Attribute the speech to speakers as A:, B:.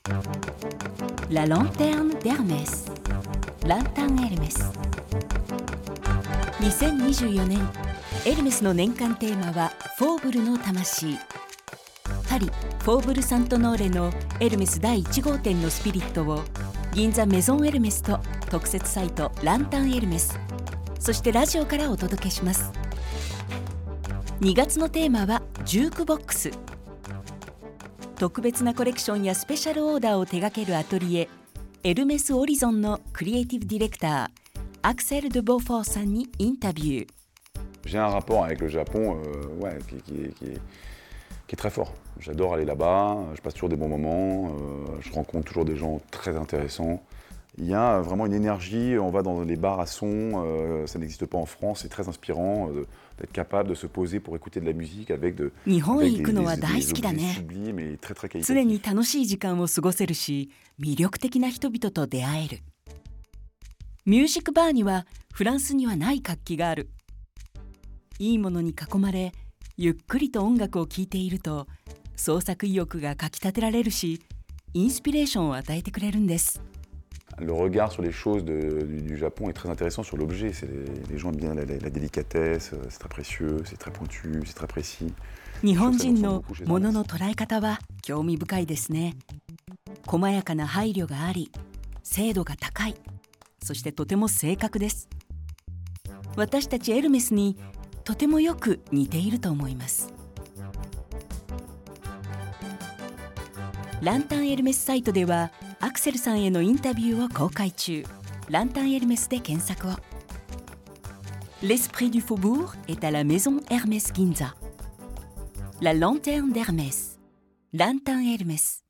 A: La lanterne d'Hermès ランタンエルメス。2024年エルメスの年間テーマはフォーブルの魂。パリ・フォーブル・サントノーレのエルメス第1号店のスピリットを銀座メゾンエルメスと特設サイトランタンエルメス、そしてラジオからお届けします。2月のテーマはジュークボックス。特別なコレクションやスペシャルオーダーを手掛けるアトリエエルメスオリゾンのクリエイティブディレクターアクセル・ドゥ・ボフォーさんにインタビュー。
B: J'ai un rapport avec le Japon qui est très fort. J'adore aller là-bas, je passe toujours des bons moments, je rencontre toujours des gens très intéressants. Il y a vraiment une énergie, on va dans les bars à son, ça n'existe pas en France, c'est très inspirant d'être capable de se poser pour écouter de la musique avec des objets sublimes et très très qualitatifs.
A: 常に楽しい時間を過ごせるし、魅力的な人々と出会える。ミュージックバーにはフランスにはない活気がある。いいものに囲まれ、ゆっくりと音楽を聴いていると創作意欲がかきたてられるし、インスピレーションを与えてくれるんです。
B: Le regard sur les choses du Japon est très intéressant sur l'objet. Les gens aiment bien la délicatesse, c'est très précieux, c'est très pointu, c'est très précis.
A: 日本人のものの捉え方は興味深いですね。細やかな配慮があり、精度が高い、そしてとても正確です。私たちエルメスにとてもよく似ていると思います。ランタンエルメスサイトではアクセルさんへのインタビューを公開中。ランタンエルメスで検索を。L'esprit du faubourg est à la maison Hermès Ginza. La lanterne d'Hermès. ランタンエルメス。